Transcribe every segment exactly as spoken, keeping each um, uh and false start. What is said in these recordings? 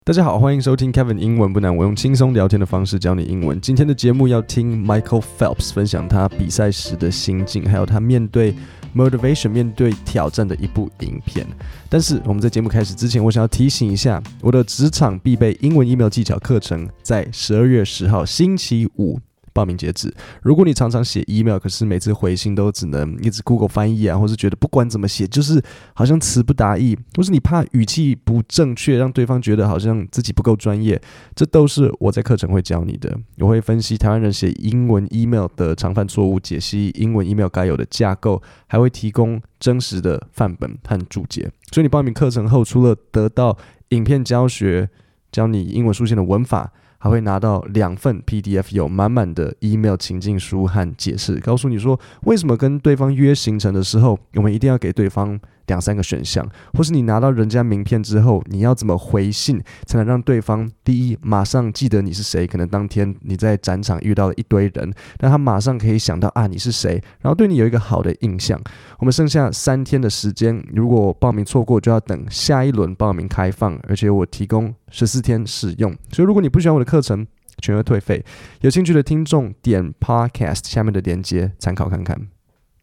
大家好，歡迎收聽 Kevin 英文不難，我用輕鬆聊天的方式教你英文。今天的節目要聽 Michael Phelps 分享他比賽時的心境，還有他面對 motivation 面對挑戰的一部影片。但是我們在節目開始之前，我想要提醒一下，我的職場必備英文 email 技巧課程在十二月十號星期五報名截止。如果你常常寫 email， 可是每次回信都只能一直 Google 翻譯啊，或是覺得不管怎麼寫就是好像詞不達意，或是你怕語氣不正確，讓對方覺得好像自己不夠專業，這都是我在課程會教你的。我會分析台灣人寫英文 email 的常犯錯誤，解析英文 email 該有的架構，還會提供真實的範本和注解。所以你報名課程後，除了得到影片教學，教你英文書寫的文法，還會拿到兩份 P D F， 有滿滿的 email 情境書和解釋，告訴你說為什麼跟對方約行程的時候，我們一定要給對方兩三個選項，或是你拿到人家名片之後，你要怎麼回信才能讓對方第一馬上記得你是誰？可能當天你在展場遇到了一堆人，但他馬上可以想到啊你是誰，然後對你有一個好的印象。我們剩下三天的時間，如果報名錯過，就要等下一輪報名開放，而且我提供十四天試用，所以如果你不喜歡我的課程，全額退費。有興趣的聽眾點 Podcast 下面的連結參考看看。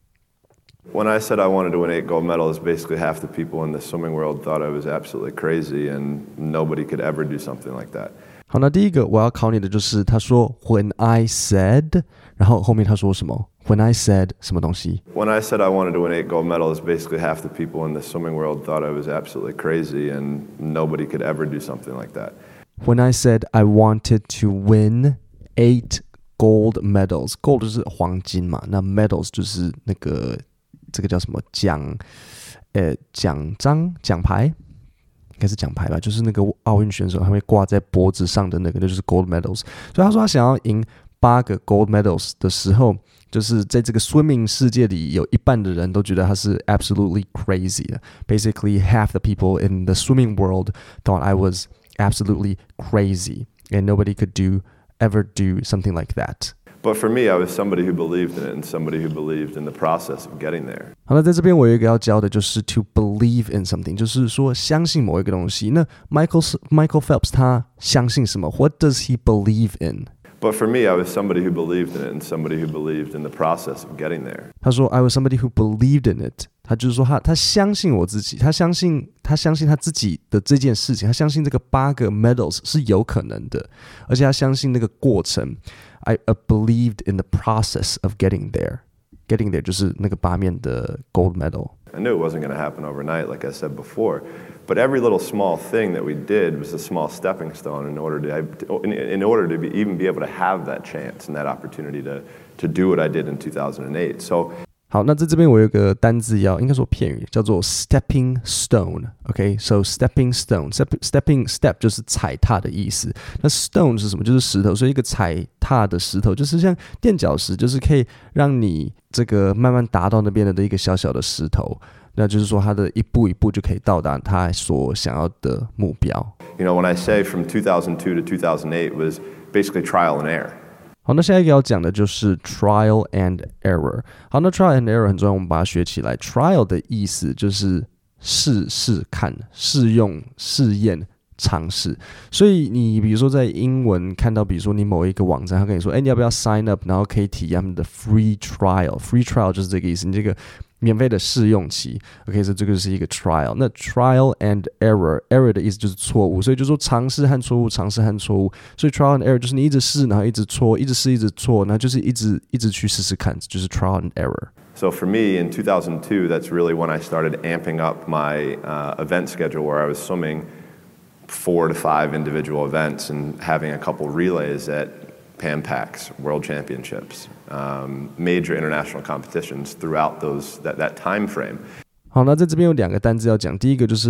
When I said I wanted to win eight gold medals, basically half the people in the swimming world thought I was absolutely crazy and nobody could ever do something like that. 好，那第一個我要考你的就是他說 When I said， 然後後面他說什麼 When I said 什麼東西 When I said I wanted to win eight gold medals, basically half the people in the swimming world thought I was absolutely crazy and nobody could ever do something like that. When I said I wanted to win eight gold medals, gold 就是黃金嘛，那 medals 就是那個這個叫什麼獎，呃，獎章、獎牌，應該是獎牌吧，就是那個奧運選手他會掛在脖子上的那個，那就是 gold medals。所以他說他想要贏八個 gold medals 的時候，就是在這個 swimming 世界裡，有一半的人都覺得他是 absolutely crazy 的。Basically, half the people in the swimming world thought I was absolutely crazy, and nobody could do ever do something like that.But for me, I was somebody who believed in it and somebody who believed in the process of getting there. 好了，在這邊我有一個要教的就是 to believe in something， 就是說相信某一個東西。那 Michael Michael Phelps 他相信什麼 ？What does he believe in? But for me, I was somebody who believed in it and somebody who believed in the process of getting there. 他說 I was somebody who believed in it。他就是說他他相信我自己，他相信他相信他自己的這件事情，他相信這個八個 medals 是有可能的，而且他相信那個過程。I believed in the process of getting there. Getting there 就是那個八面的 gold medal. I knew it wasn't going to happen overnight, like I said before. But every little small thing that we did was a small stepping stone in order to, in, in order to be, even be able to have that chance and that opportunity to, to do what I did in two thousand eight. So, 好，那在這邊我有一個單字要，應該說片語，叫做 stepping stone。OK， so stepping stone，step stepping step 就是踩踏的意思。那 stone 是什麼？就是石頭，所以一個踩踏的石頭，就是像墊腳石，就是可以讓你這個慢慢達到那邊的一個小小的石頭。那就是說，他的一步一步就可以到達他所想要的目標。 You know, when I say from two thousand two to two thousand eight was basically trial and error. 好，那下一個要講的就是 trial and error。好，那 trial and error 很重要，我們把它學起來。trial 的意思就是試試看、試用、試驗、嘗試。所以你比如說在英文看到，比如說你某一個網站，他跟你說，哎，你要不要 sign up， 然後可以體驗他們的 free trial。free trial 就是這個意思，你這個免費的試用期 ，OK， 所以這個是一個 trial。那 trial and error，error 的意思就是錯誤，所以就說嘗試和錯誤，嘗試和錯誤。所以 trial and error 就是你一直試，然後一直錯，一直試，一直錯，然後就是一直一直去試試看，就是 trial and error。 So for me in two thousand two, that's really when I started amping up my uh, event schedule, where I was swimming four to five individual events and having a couple relays at Pan Pacs, World Championships, um, major international competitions throughout those that, that time frame. 好，那在這邊有兩個單字要講，第一個就是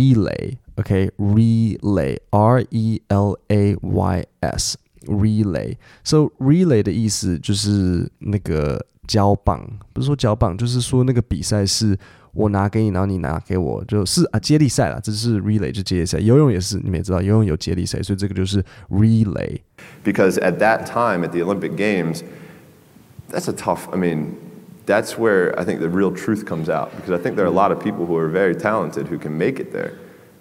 relay，OK，relay，R E L A Y S，relay。So relay 的意思就是那個交棒，不是說交棒，就是說那個比賽是我拿給你，然後你拿給我，就是啊接力賽啦，這是 relay 就接力賽。游泳也是，你們也知道，游泳有接力賽，所以這個就是 relay。 Because at that time at the Olympic Games, that's a tough, I mean, that's where I think the real truth comes out, because I think there are a lot of people who are very talented who can make it there,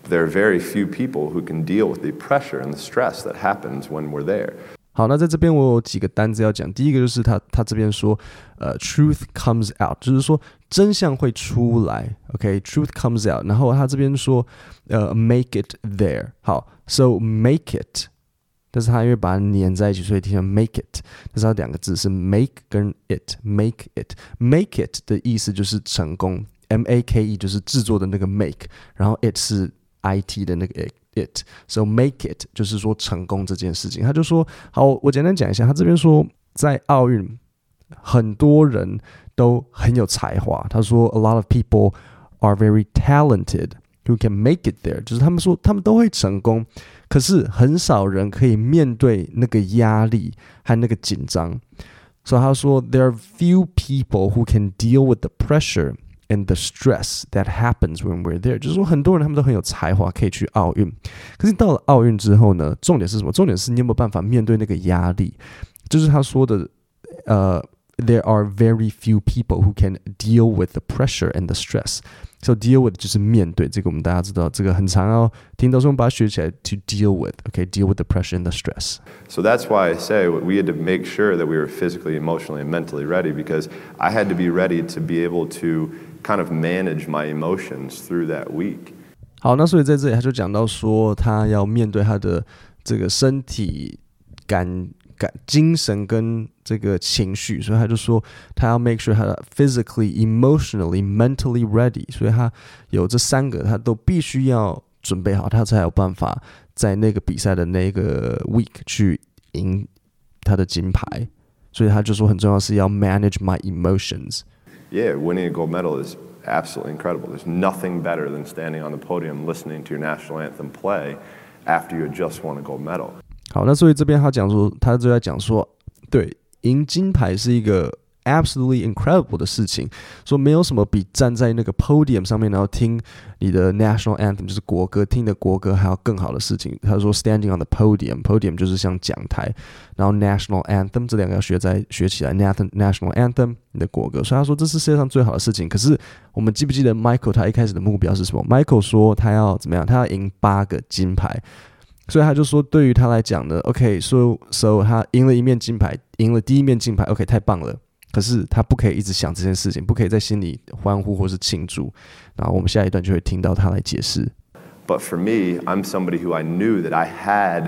there are very few people who can deal with the pressure and the stress that happens when we're there. 好，那在這邊我有幾個單字要講。第一個就是他他這邊說，呃 ，truth comes out， 就是說真相會出來。OK，truth comes out。然後他這邊說，呃 ，make it there。好 ，so make it， 但是他因為把它粘在一起，所以聽成 make it。但是它兩個字是 make 跟 it，make it，make it 的意思就是成功 ，M A K E 就是製作的那個 make， 然後 it 是 I T 的那個 it。it，so make it 就是說成功這件事情。他就說，好，我簡單講一下，他這邊說在奧運很多人都很有才華。他說 a lot of people are very talented who can make it there， 就是他們說他們都會成功，可是很少人可以面對那個壓力和那個緊張。所以他說 there are few people who can deal with the pressure。and the stress that happens when we're there， 就是說很多人他們都很有才華，可以去奧運。可是到了奧運之後呢，重點是什麼？重點是你有沒有辦法面對那個壓力？就是他說的，呃 ，there are very few people who can deal with the pressure and the stress。So deal with 就是面對，這個我們大家知道，這個很常要聽到，所以我們把它學起來 to deal with。OK，deal with the pressure and the stress. So that's why I say we had to make sure that we were physically, emotionally, and mentally ready because I had to be ready to be able to kind of manage my emotions through that week. 好，那所以在這裡他就講到說，他要面對他的這個身體感。感精神跟這個情緒，所以他就說他要 make sure 他 physically, emotionally, mentally ready， 所以他有這三個他都必須要準備好，他才有辦法在那個比賽的那個 week 去贏他的金牌。所以他就說很重要是要 manage my emotions. Yeah, winning a gold medal is absolutely incredible. There's nothing better than standing on the podium listening to your national anthem play after you just won a gold medal. 好，那所以這邊他講說，他就在講說，對，贏金牌是一個 absolutely incredible 的事情，說沒有什麼比站在那個 podium 上面，然後聽你的 national anthem 就是國歌，聽你的國歌還要更好的事情。他說 standing on the podium，podium 就是像講台，然後 national anthem 這兩個要學在學起來 ，national anthem 你的國歌，所以他說這是世界上最好的事情。可是我們記不記得 Michael 他一開始的目標是什麼 ？Michael 說他要怎麼樣？他要贏八個金牌。所以他就說，對於他來講呢 ，OK， so so 他贏了一面金牌，贏了第一面金牌 ，OK， 太棒了。可是他不可以一直想這件事情，不可以在心裡歡呼或是慶祝。然後我們下一段就會聽到他來解釋。 But for me, I'm somebody who I knew that I had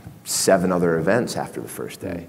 seven other events after the first day,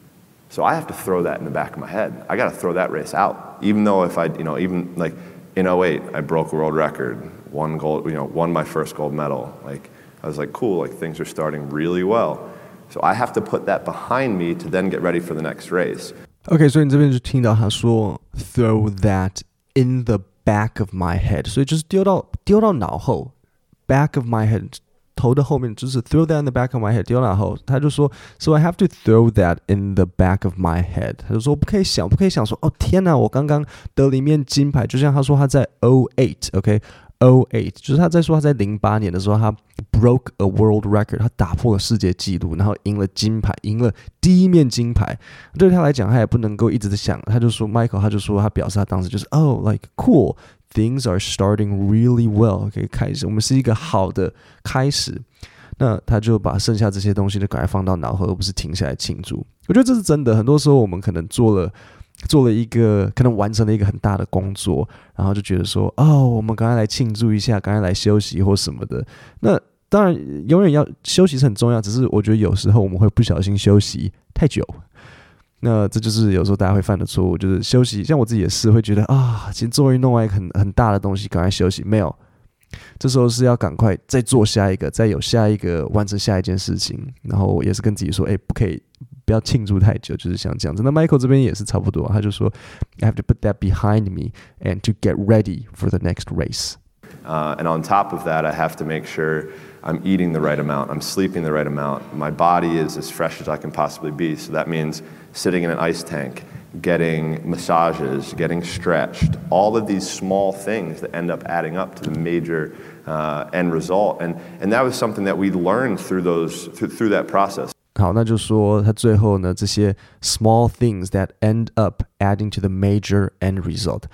so I have to throw that in the back of my head. I got to throw that race out, even though if I, you know, even like in oh eight, I broke a world record, won gold, you know, won my first gold medal, like.I was like, cool, like things are starting really well. So I have to put that behind me to then get ready for the next race. OK， 所以你這邊就聽到他說 throw that in the back of my head， 所以就是丟到丟到腦後 back of my head， 頭的後面就是 throw that in the back of my head， 丟到腦後。他就說 so I have to throw that in the back of my head。他就說不可以想，不可以想說哦天哪，我剛剛得了一面金牌，就像他說他在oh eight，OK。oh eight 就是他在說他在零八年的時候他 broke a world record， 他打破了世界紀錄，然後贏了金牌，贏了第一面金牌。對他來講他也不能夠一直在想，他就說 Michael 他就說他表示他當時就是 oh like cool things are starting really well， 可以開始我們是一個好的開始。那他就把剩下這些東西就趕快放到腦後，而不是停下來慶祝。我覺得這是真的，很多時候我們可能做了做了一個可能完成了一個很大的工作，然後就覺得說哦，我們趕快來慶祝一下，趕快來休息或什麼的。那當然永遠要休息是很重要，只是我覺得有時候我們會不小心休息太久，那這就是有時候大家會犯的錯誤，就是休息。像我自己也是會覺得啊，其實終於弄完一個很很大的東西，趕快休息。沒有，這時候是要趕快再做下一個，再有下一個完成下一件事情。然後也是跟自己說，哎，不可以。不要慶祝太久，就是像這樣子。那 Michael 這邊也是差不多，他就說 I have to put that behind me and to get ready for the next race. Uh, and on top of that, I have to make sure I'm eating the right amount, I'm sleeping the right amount, my body is as fresh as I can possibly be. So that means sitting in an ice tank, getting massages, getting stretched, all of these small things that end up adding up to the major uh, end result. And, and that was something that we learned through, those, through, through that process. 好，那就說他最後呢，這些 small things that end up adding to the major end result，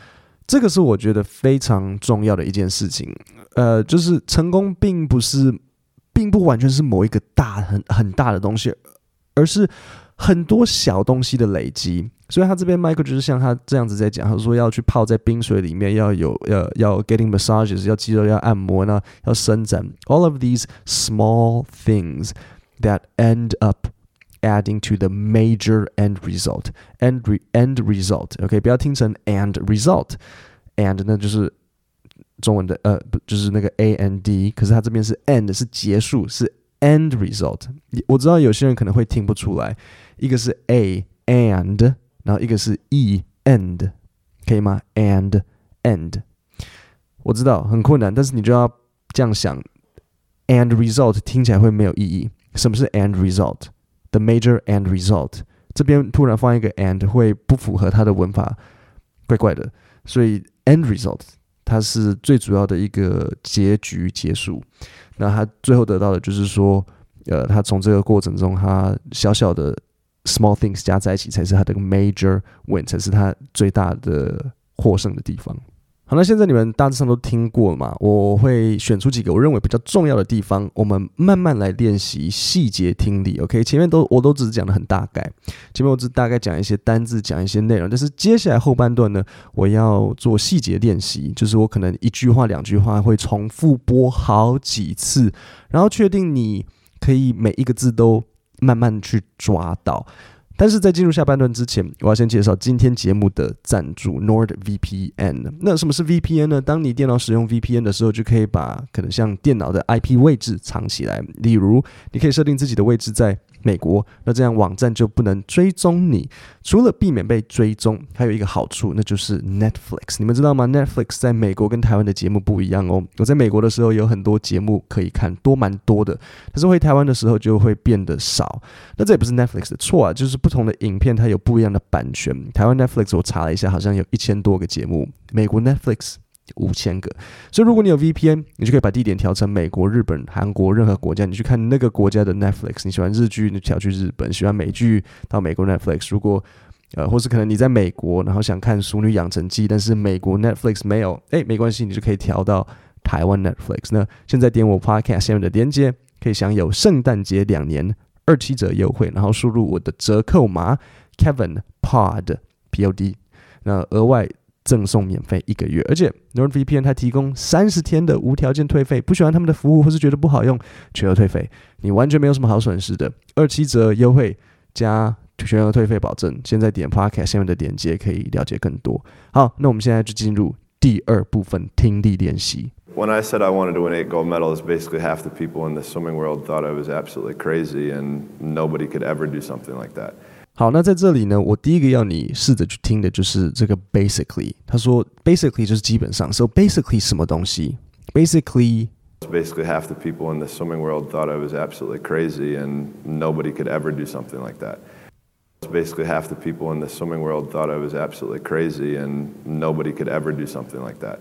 這個是我覺得非常重要的一件事情。呃，就是成功並不是，並不完全是某一個大很很大的東西，而是很多小東西的累積。所以他這邊 Michael 就是像他這樣子在講，他說要去泡在冰水裡面，要有要要 getting massages， 要肌肉要按摩呢，要伸展。All of these small things that end up adding to the major end result. End re, end result，OK，、okay? 不要聽成 and result，and 呢就是中文的呃，就是那個 a n d， 可是他這邊是 end 是結束，是 end result。我知道有些人可能會聽不出來，一個是 a and。然後一個是 e end， 可以嗎 ？and end， 我知道很困難，但是你就要這樣想 ，and result 聽起來會沒有意義。什麼是 and result？The major end result， 這邊突然放一個 and 會不符合它的文法，怪怪的。所以 end result 它是最主要的一個結局結束。那他最後得到的就是說，呃，他從這個過程中，他小小的。small things 加在一起才是他的 major win， 才是他最大的獲勝的地方。好，那現在你們大致上都聽過了嘛？我會選出幾個我認為比較重要的地方，我們慢慢來練習細節聽力。OK， 前面都我都只是講得很大概，前面我只大概講一些單字，講一些內容，但是接下來後半段呢，我要做細節練習，就是我可能一句話、兩句話會重複播好幾次，然後確定你可以每一個字都慢慢去抓到。但是在進入下半段之前，我要先介紹今天節目的贊助 NordVPN。那什麼是 V P N 呢？當你電腦使用 V P N 的時候，就可以把可能像電腦的 I P 位置藏起來。例如，你可以設定自己的位置在美國，那這樣網站就不能追蹤你。除了避免被追蹤，還有一個好處，那就是 Netflix。你們知道嗎？ Netflix 在美國跟台灣的節目不一樣哦。我在美國的時候有很多節目可以看，多蠻多的，但是回台灣的時候就會變得少。那這也不是 Netflix 的錯啊，就是不同的影片它有不一樣的版權。台灣 Netflix 我查了一下，好像有一千多個節目，美國 Netflix五千個。所以如果你有 V P N， 你就可以把地點調成美國、日本、韓國任何國家，你去看那個國家的 Netflix。你喜歡日劇，你調去日本；喜歡美劇，到美國 Netflix。如果呃，或是可能你在美國，然後想看《淑女養成記》，但是美國 Netflix 沒有，哎，沒關係，你就可以調到台灣 Netflix。那現在點我 Podcast 下面的連結，可以享有聖誕節兩年二七折優惠，然後輸入我的折扣碼 Kevin Pod P O D， 那額外贈送免費一個月，而且 NordVPN 它提供三十天的無條件退費，不喜歡他們的服務或是覺得不好用，全額退費，你完全沒有什麼好損失的，二七折優惠加全額退費保證。現在點 Podcast 下面的鏈接可以了解更多。好，那我們現在就進入第二部分聽力練習。 When I said I wanted to win eight gold medals, basically half the people in the swimming world thought I was absolutely crazy and nobody could ever do something like that. 好，那在這裡呢，我第一個要你試着去聽的就是這個 basically。他說 basically 就是基本上 ，so basically 什麼東西 ？basically basically half the people in the swimming world thought I was absolutely crazy and nobody could ever do something like that. Basically half the people in the swimming world thought I was absolutely crazy and nobody could ever do something like that.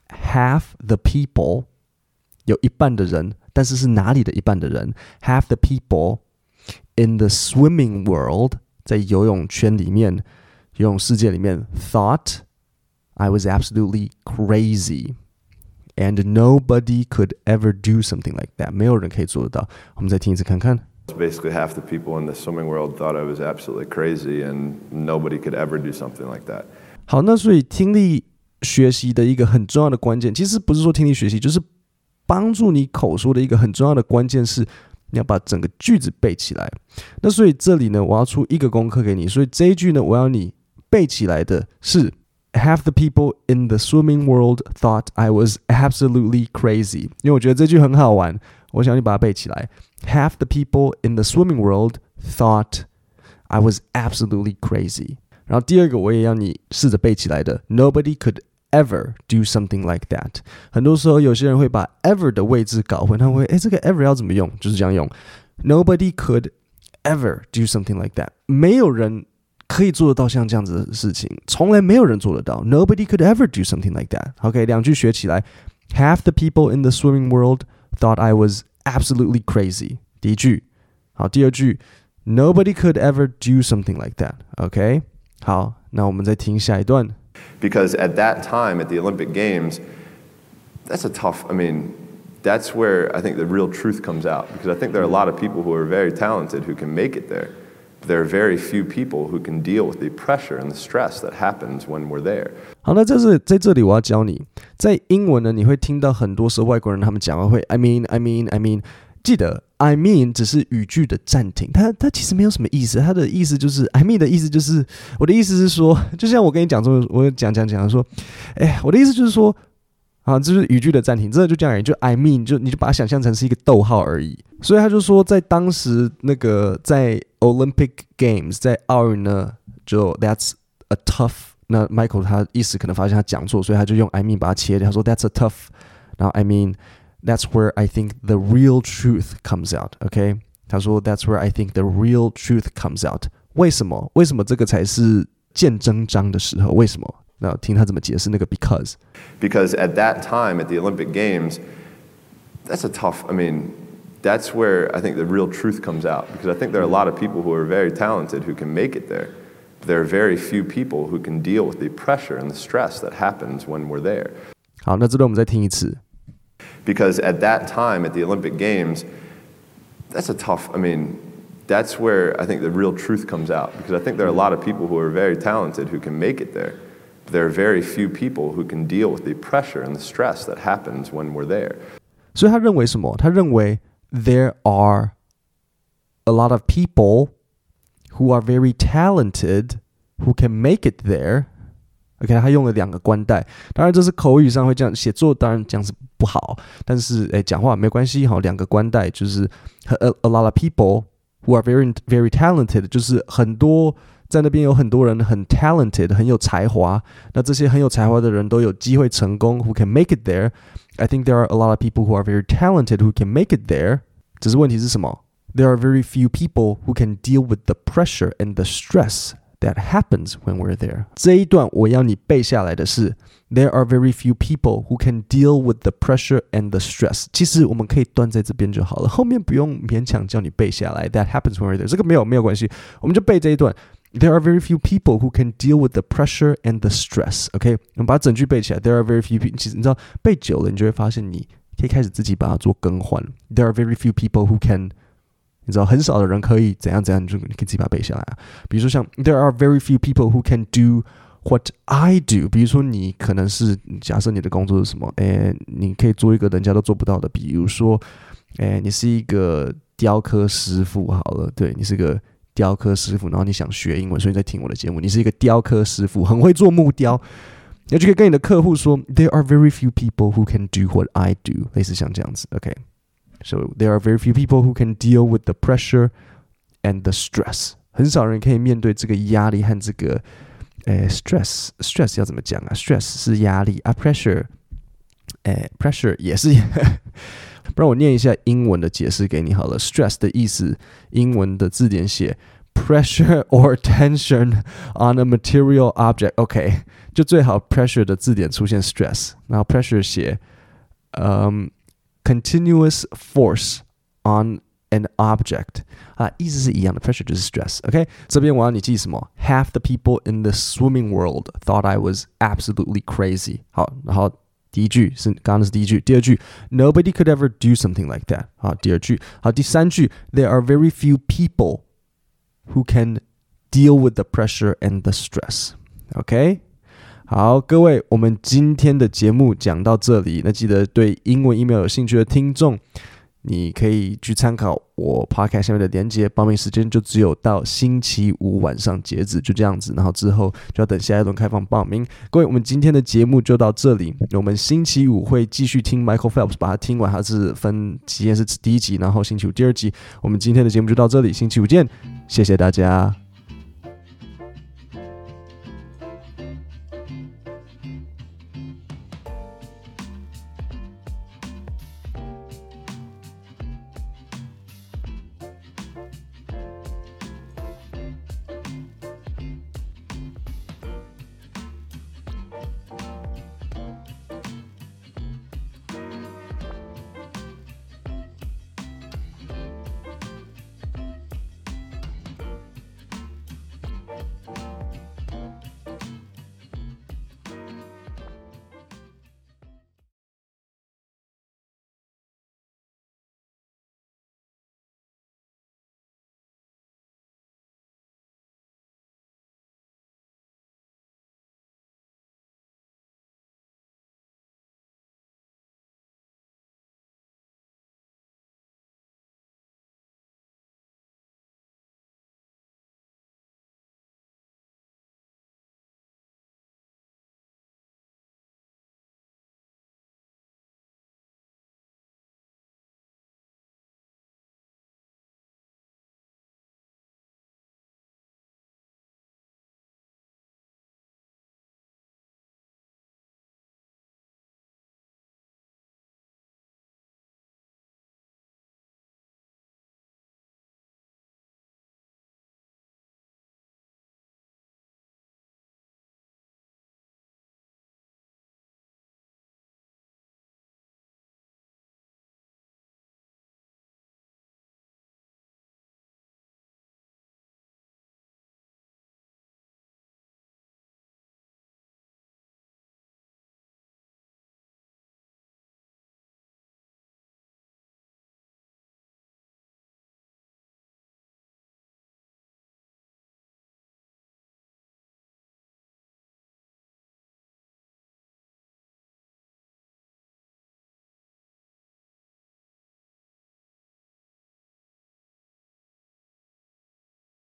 Half the people 有一半的人，但是是哪裡的一半的人 ？Half the people in the swimming world 在游泳圈裡面，游泳世界裡面 thought I was absolutely crazy and nobody could ever do something like that. 沒有人可以做得到。我們再聽一次看看。 Basically half the people in the swimming world thought I was absolutely crazy and nobody could ever do something like that. 好，那所以听力學習的一個很重要的關鍵，其實不是說聽力學習，就是幫助你口說的一個很重要的關鍵是你要把整個句子背起來。那所以這裡呢，我要出一個功課給你，所以這一句呢，我要你背起來的是 Half the people in the swimming world thought I was absolutely crazy， 因為我覺得這句很好玩，我想你把它背起來。Half the people in the swimming world thought I was absolutely crazy。然後第二個我也要你試着背起來的 Nobody could ever do something like that。 很多時候有些人會把 ever 的位置搞混，他會誒這個 ever 要怎麼用，就是這樣用 Nobody could ever do something like that。 沒有人可以做得到像這樣子的事情，從來沒有人做得到 Nobody could ever do something like that。 OK， 兩句學起來。 Half the people in the swimming world thought I was absolutely crazy。 第一句。好，第二句 Nobody could ever do something like that。 OK，好，那我們再聽下一段。 Because at that time, at the Olympic Games, that's a tough, I mean, that's where I think the real truth comes out. Because I think there are a lot of people who are very talented who can make it there. There are very few people who can deal with the pressure and the stress that happens when we're there. 好，那在这在这里我要教你，在英文呢，你会听到很多时候外国人他們講話會 I mean I mean I mean， 記得 I mean 只是語句的暫停，它它其實沒有什麼意思，它的意思就是 I mean 的意思就是我的意思是說，就像我跟你講說，我講講講說，哎，我的意思就是說。啊，這就是語句的暫停，真的就這樣而已。就 I mean， 就你就把它想象成是一個逗號而已。所以他就說，在當時那個在 Olympic Games， 在奧運呢，就 That's a tough。那 Michael 他一時可能發現他講錯，所以他就用 I mean 把它切掉，他說 That's a tough。然後 I mean That's where I think the real truth comes out。OK， 他說 That's where I think the real truth comes out。為什麼？為什麼這個才是見真章的時候？為什麼？那聽他怎麼解釋那個 because because at that time at the Olympic Games, that's a tough, I mean, that's where I think the real truth comes out. Because I think there are a lot of people who are very talented who can make it there. There are very few people who can deal with the pressure and the stress that happens when we're there. 好，那这段我们再聽一次。 Because at that time at the Olympic Games, that's a tough, I mean, that's where I think the real truth comes out. Because I think there are a lot of people who are very talented who can make it there. There are very few people who can deal with the pressure and the stress that happens when we're there. 所以他認為什麼？他認為 there are a lot of people who are very talented who can make it there. OK， 他用了兩個關代，當然這是口語上會這樣，寫作當然這樣是不好，但是誒講話沒關係，好，兩個關代就是 a, a lot of people who are very very talented， 就是很多。在那邊有很多人很 talented， 很有才華。那這些很有才華的人都有機會成功 ，who can make it there. I think there are a lot of people who are very talented who can make it there. 只是問題是什麼 ？There are very few people who can deal with the pressure and the stress that happens when we're there. 這一段我要你背下來的是 There are very few people who can deal with the pressure and the stress. 其實我們可以斷在這邊就好了，後面不用勉強叫你背下來。That happens when we're there. 這個沒有沒有關係，我們就背這一段。There are very few people who can deal with the pressure and the stress. OK， 我們把整句背起來。There are very few people. 其實你知道背久了，你就會發現你可以開始自己把它做更換。There are very few people who can， 你知道很少的人可以怎樣怎樣，你就你可以自己把它背下來啊。比如說像 There are very few people who can do what I do。比如說你可能是假設你的工作是什麼？誒，你可以做一個人家都做不到的。比如說，誒，你是一個雕刻師傅好了，對，你是個。雕刻師傅，然後你想學英文，所以你在聽我的節目。你是一個雕刻師傅，很會做木雕，你就可以跟你的客戶說 ，There are very few people who can do what I do， 類似像這樣子。OK，so there are very few people who can deal with the pressure and the stress。很少人可以面對這個壓力和這個，誒 ，stress stress 要怎麼講啊 ？stress 是壓力啊 ，pressure， 誒 ，pressure 也是。不然我念一下英文的解釋給你好了。Stress 的意思，英文的字典寫 pressure or tension on a material object。OK， 就最好 pressure 的字典出現 stress， 然後 pressure 寫、um, continuous force on an object 啊，意思是一樣的 ，pressure 就是 stress。OK， 這邊我要你記什麼 ？Half the people in the swimming world thought I was absolutely crazy。好，然後。第一句是剛剛的是第一句，第二句 Nobody could ever do something like that。好，第二句，好，第三句 There are very few people who can deal with the pressure and the stress。OK， 好，各位，我們今天的節目講到這裡，那記得對英文 email 有興趣的聽眾，你可以去參考我 podcast 下面的連結，報名時間就只有到星期五晚上截止，就這樣子，然後之後就要等下一輪開放報名。各位，我們今天的節目就到這裡，我們星期五會繼續聽 Michael Phelps， 把它聽完，它是分期間是第一集，然後星期五第二集。我們今天的節目就到這裡，星期五見，謝謝大家。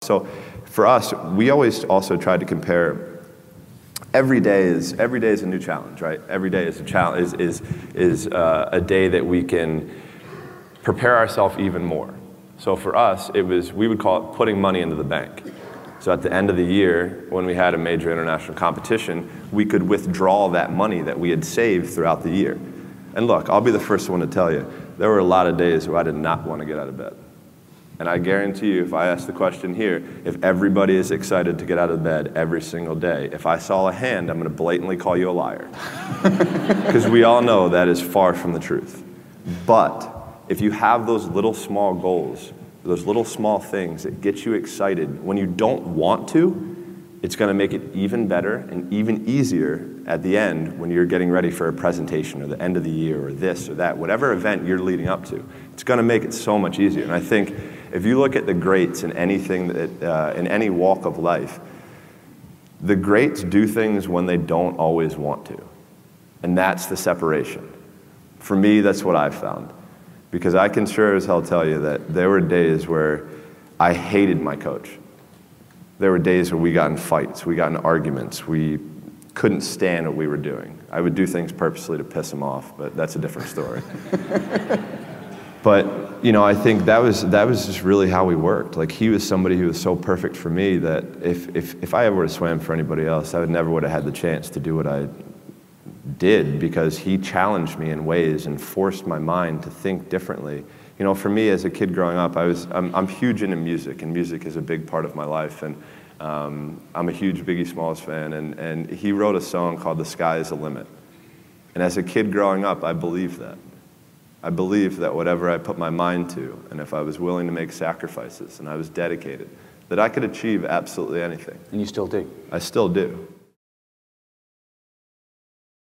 So for us, we always also tried to compare. Every day is every day is a new challenge, right? Every day is a challenge is is is uh, a day that we can prepare ourselves even more. So for us, it was we would call it putting money into the bank. So at the end of the year, when we had a major international competition, we could withdraw that money that we had saved throughout the year. And look, I'll be the first one to tell you, there were a lot of days where I did not want to get out of bed. And I guarantee you, if I ask the question here, if everybody is excited to get out of bed every single day, if I saw a hand, I'm going to blatantly call you a liar. Because we all know that is far from the truth. But if you have those little small goals, those little small things that get you excited when you don't want to, it's going to make it even better and even easier at the end when you're getting ready for a presentation or the end of the year or this or that, whatever event you're leading up to. It's going to make it so much easier. And I think if you look at the greats in anything that, uh, in any walk of life, the greats do things when they don't always want to. And that's the separation. For me, that's what I've found. Because I can sure as hell tell you that there were days where I hated my coach. There were days where we got in fights, we got in arguments, we couldn't stand what we were doing. I would do things purposely to piss him off, but that's a different story. But, you know, I think that was that was just really how we worked. Like, he was somebody who was so perfect for me that if, if, if I ever would have swam for anybody else, I would never would have had the chance to do what I did, because he challenged me in ways and forced my mind to think differently. You know, for me as a kid growing up, I was I'm, I'm huge into music, and music is a big part of my life. And um, I'm a huge Biggie Smalls fan, and, and he wrote a song called "The Sky Is the Limit." And as a kid growing up, I believed that. I believed that whatever I put my mind to, and if I was willing to make sacrifices, and I was dedicated, that I could achieve absolutely anything. And you still do. I still do.